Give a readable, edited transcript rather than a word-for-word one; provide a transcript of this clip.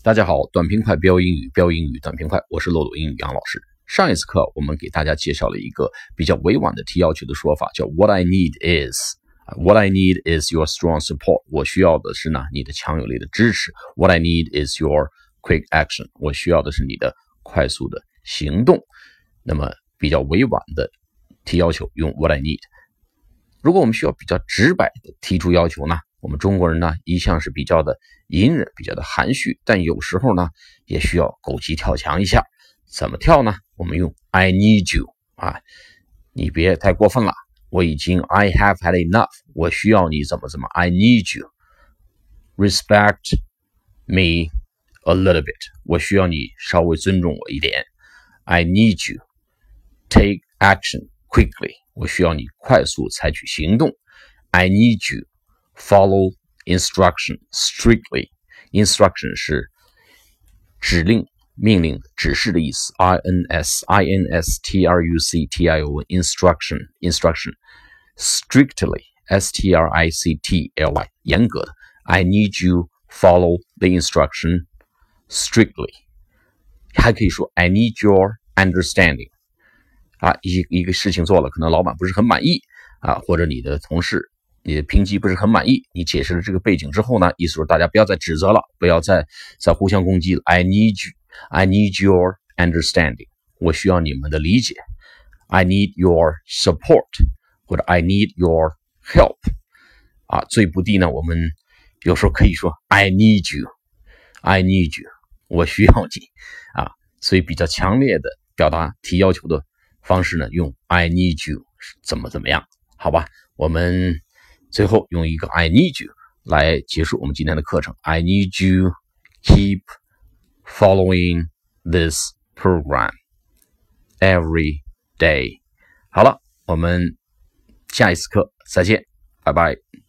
大家好，短平快标英语，标英语短平快，我是漏斗英语杨老师。上一次课我们给大家介绍了一个比较委婉的提要求的说法，叫 What I need is。What I need is your strong support。我需要的是你的强有力的支持。What I need is your quick action。我需要的是你的快速的行动。那么比较委婉的提要求用 What I need。如果我们需要比较直白的提出要求呢，我们中国人一向是比较的隐忍，比较的含蓄，但有时候也需要狗急跳墙一下。怎么跳呢？我们用 I need you 你别太过分了，我已经 I have had enough， 我需要你怎么 I need you respect me a little bit， 我需要你稍微尊重我一点。 I need you take action quickly， 我需要你快速采取行动。 I need you follow instruction strictly。 Instruction 是指令、命令、指示的意思。 instruction instruction strictly strictly 严格的。 I need you follow the instruction strictly。 还可以说 I need your understanding。 一个事情做了，可能老板不是很满意或者你的同事你的评级不是很满意，你解释了这个背景之后意思是大家不要再指责了，不要再互相攻击了。 I need your understanding， 我需要你们的理解。 I need your support， 或者 I need your help。 最不地我们有时候可以说 I need you， 我需要你所以比较强烈的表达提要求的方式用 I need you 怎么样，好吧？我们最后用一个 I need you 来结束我们今天的课程。 I need you keep following this program every day。 好了，我们下一次课再见，拜拜。